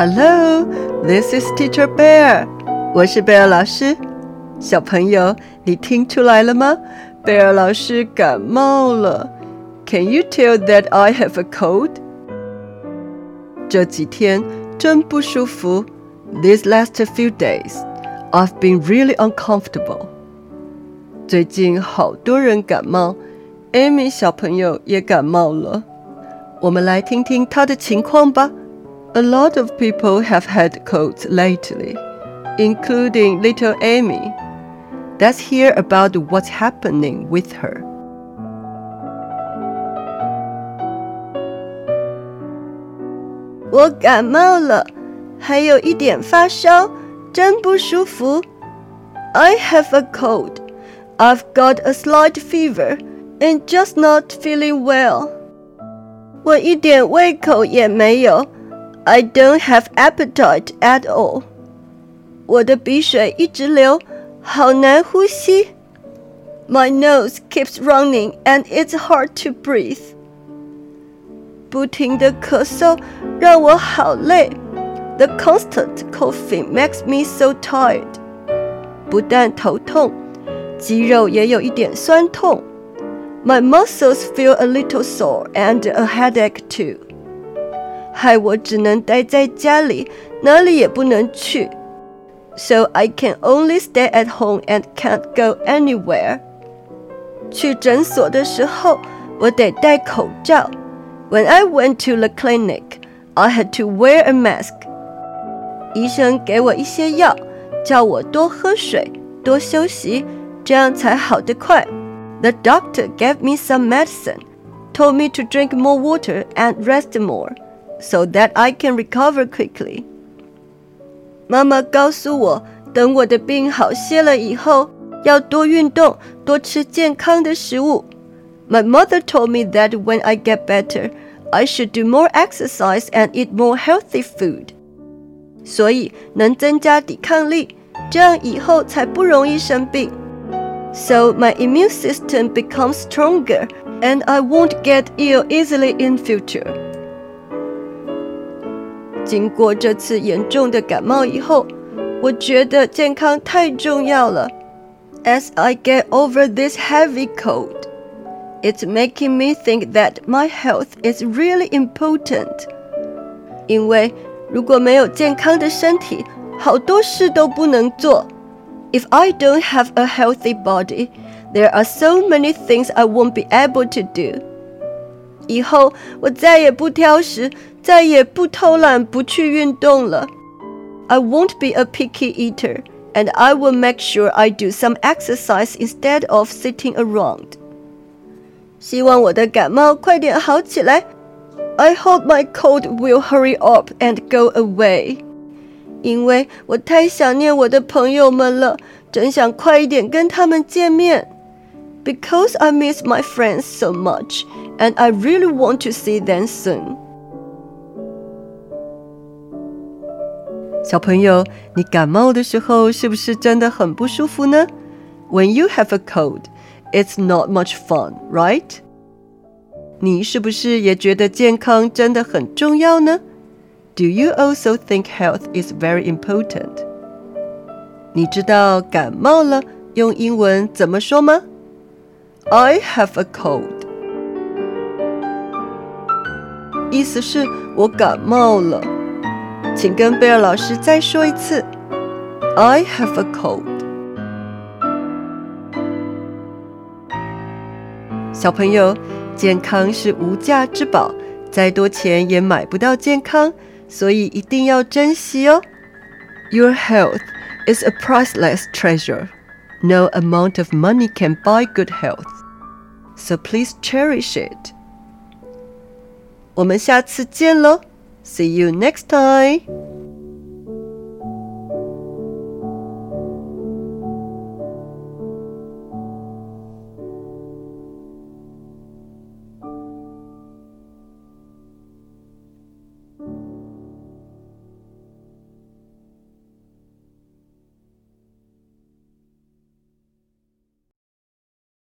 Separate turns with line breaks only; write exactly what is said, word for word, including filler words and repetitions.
Hello, this is Teacher Bear. 我是貝爾老師。小朋友，你聽出來了嗎？貝爾老師感冒了。Can you tell that I have a cold? 這幾天真不舒服。These last few days, I've been really uncomfortable. 最近好多人感冒 ，Amy 小朋友也感冒了。我們來聽聽她的情況吧。A lot of people have had colds lately, including little Amy. Let's hear about what's happening with her.
我感冒了，還有一點發燒，真不舒服。I have a cold. I've got a slight fever and just not feeling well. 我一點胃口也沒有。I don't have appetite at all. 我的鼻水一直流，好難呼吸。My nose keeps running and it's hard to breathe. 不停的咳嗽讓我好累。The constant coughing makes me so tired. 不但頭痛，肌肉也有一點酸痛。My muscles feel a little sore and a headache too. 害我只能待在家裡，哪裡也不能去。So I can only stay at home and can't go anywhere. 去診所的時候，我得戴口罩。When I went to the clinic, I had to wear a mask. 醫生給我一些藥，叫我多喝水，多休息，這樣才好得快。The doctor gave me some medicine, told me to drink more water and rest more, so that I can recover quickly. 媽媽告訴我，等我的病好些了以後，要多運動，多吃健康的食物。My mother told me that when I get better, I should do more exercise and eat more healthy food. 所以能增加抵抗力，這樣以後才不容易生病。So my immune system becomes stronger, and I won't get ill easily in future. 經過這次嚴重的感冒以後，我覺得健康太重要了。As I get over this heavy cold, it's making me think that my health is really important. 因為如果沒有健康的身體，好多事都不能做。If I don't have a healthy body, there are so many things I won't be able to do. 以後我再也不挑食，再也不偷懶，不去運動了。I won't be a picky eater, and I will make sure I do some exercise instead of sitting around. 希望我的感冒快點好起來。I hope my cold will hurry up and go away. 因為我太想念我的朋友們了，真想快一點跟他們見面。Because I miss my friends so much, and I really want to see them soon.
小朋友，你感冒的時候是不是真的很不舒服呢？ When you have a cold, it's not much fun, right? 你是不是也覺得健康真的很重要呢？ Do you also think health is very important? 你知道感冒了用英文怎麼說嗎？ I have a cold. 意思是我感冒了。請跟貝爾老師再說一次。I have a cold. 小朋友，健康是無價之寶，再多錢也買不到健康，所以一定要珍惜哦。Your health is a priceless treasure. No amount of money can buy good health. So please cherish it. 我們下次見咯。See you next time.